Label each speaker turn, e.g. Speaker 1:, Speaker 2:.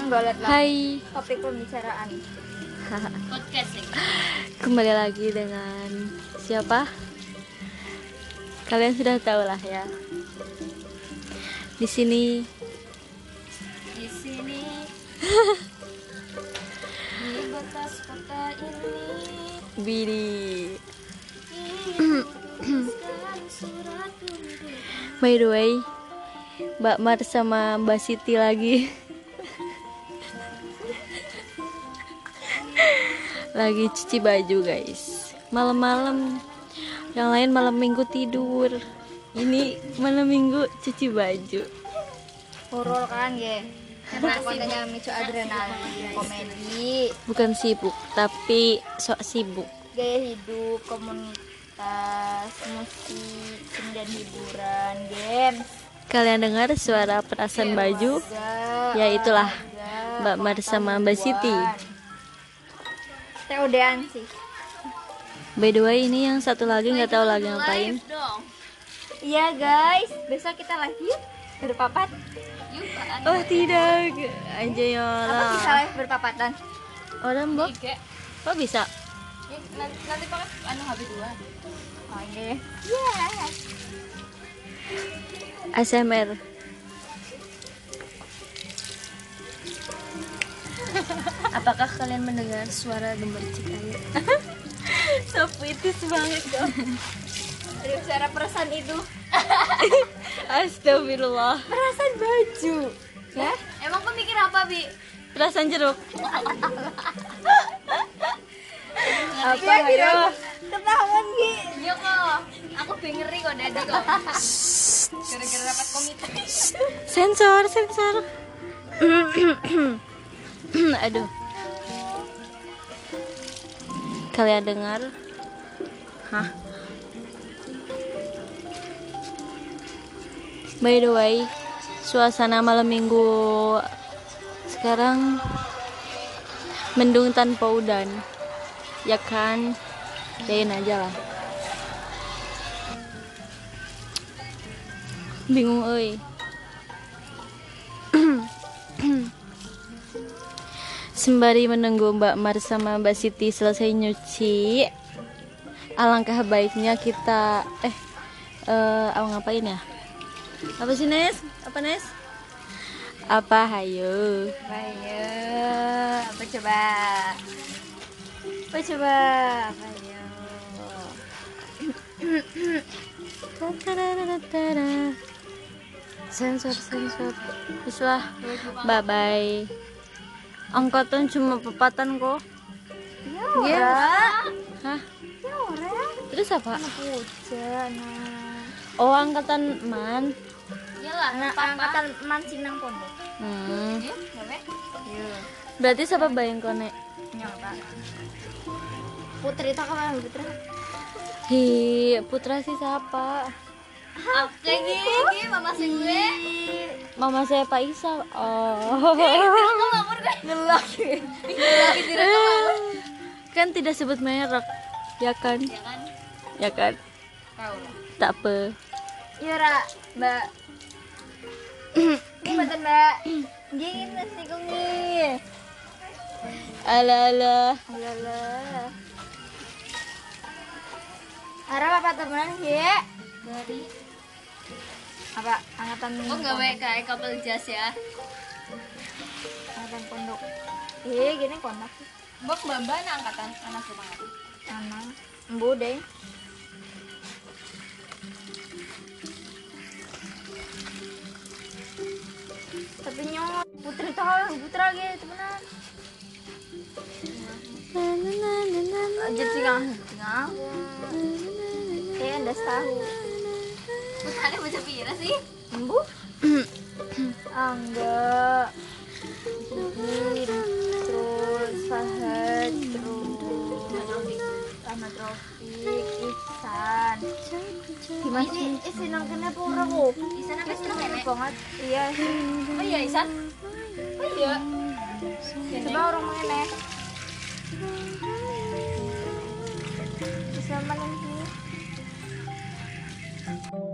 Speaker 1: Golek lah.
Speaker 2: Hai.
Speaker 1: Topik pembicaraan.
Speaker 3: Podcast ya.
Speaker 2: Kembali lagi dengan siapa? Kalian sudah tahu lah ya. Di sini
Speaker 3: Di sini di batas kota ini
Speaker 2: Bidi.
Speaker 3: tuliskan surat untuk
Speaker 2: By the way, Mbak Mar sama Mbak Siti lagi lagi cuci baju guys. Malam-malam, yang lain malam minggu tidur, ini malam minggu cuci baju.
Speaker 1: Horor kan, ge. Karena kontennya micu adrenalin, komedi,
Speaker 2: Bukan sibuk, tapi sok sibuk.
Speaker 1: gaya hidup, komunitas, musik, seni dan hiburan, games.
Speaker 2: Kalian dengar suara perasan baju? Ya, itulah Mbak Mar sama Mbak Siti.
Speaker 1: TOD-an sih.
Speaker 2: By the way, ini yang satu lagi nggak tahu lagi ngapain.
Speaker 3: live dong.
Speaker 1: Iya guys, besok kita live yuk berpapat.
Speaker 3: Yuk, Pak.
Speaker 2: Oh tidak, aja
Speaker 1: Apa
Speaker 2: yola.
Speaker 1: kita live berpapatan?
Speaker 2: Orang Mbok,
Speaker 3: Tiga.
Speaker 2: kok bisa?
Speaker 3: Ya, nanti pakai HP 2.
Speaker 1: Oh iya. Iya.
Speaker 2: ASMR. Apakah kalian mendengar suara gemercik air? So puitis banget dong.
Speaker 1: Aduh, suara perasaan itu.
Speaker 2: Astagfirullah.
Speaker 1: Perasaan baju. Ya?
Speaker 3: Emang kau mikir apa, Bi?
Speaker 2: Perasaan jeruk.
Speaker 1: Apa ya? Ketahuan Gi.
Speaker 3: Iya kok. Aku ngeri kok dadi kok. Gara-gara rapat komite.
Speaker 2: Sensor, sensor. Aduh. Kalian dengar? Hah? By the way, suasana malam minggu sekarang mendung tanpa udan. Ya kan? Yain aja lah. Bingung euy. Sembari menunggu Mbak Mar sama Mbak Siti selesai nyuci, alangkah baiknya kita ngapain ya? Apa sih Nes? Apa Nes? Apa hayo?
Speaker 1: Ayo, apa coba? Apa coba? Ayo.
Speaker 2: Sensor, sensor. Bislah. Bye bye. Angkatan cuma pepatan kok.
Speaker 1: Ya,
Speaker 2: Hah?
Speaker 1: ya orang.
Speaker 2: Terus apa?
Speaker 1: Hujan.
Speaker 2: Oh, angkatan man.
Speaker 3: Iyalah,
Speaker 1: Anak angkatan mancing nang pondok.
Speaker 3: Iya, gawe.
Speaker 1: Iya.
Speaker 2: Berarti siapa bayang kone?
Speaker 1: Nyata. Putri tak kemana Putri?
Speaker 2: Hi, Putra sih siapa?
Speaker 3: Oke, gini, mama sing gue.
Speaker 2: Mama saya Pak Isa. Oh.
Speaker 1: Ngelak.
Speaker 2: Kan tidak sebut merek, ya kan?
Speaker 3: Ya kan?
Speaker 2: Ya kan?
Speaker 3: Tahu lah.
Speaker 2: Tak apa.
Speaker 1: Iya, Ra, Mbak. Ini betul, Mbak. Gini nasi kungi.
Speaker 2: Ala.
Speaker 1: Alah. Harap apa temenan ya?
Speaker 3: Dari
Speaker 1: Apa angkatan
Speaker 3: oh gawe kayak couple jas ya.
Speaker 1: angkatan pondok. Gini kontak sih.
Speaker 3: Mbok mbak angkatan anak rumah.
Speaker 1: Anak. Embu deh. Tapi nyot Putri tahu Putra gitu temenan. Aja tinggal. Anda tahu.
Speaker 3: Putrane baca pira sih?
Speaker 1: Embu? Angga. Jin, terus Fahad, terus Ahmad Rafiq, Ihsan. Gimana sih? Senang kenapa orang kok?
Speaker 3: Isan apa sih nenek?
Speaker 1: Banget. Iya.
Speaker 3: Oh iya Isan. Oh iya.
Speaker 1: Coba orang mana? Bisa mana sih?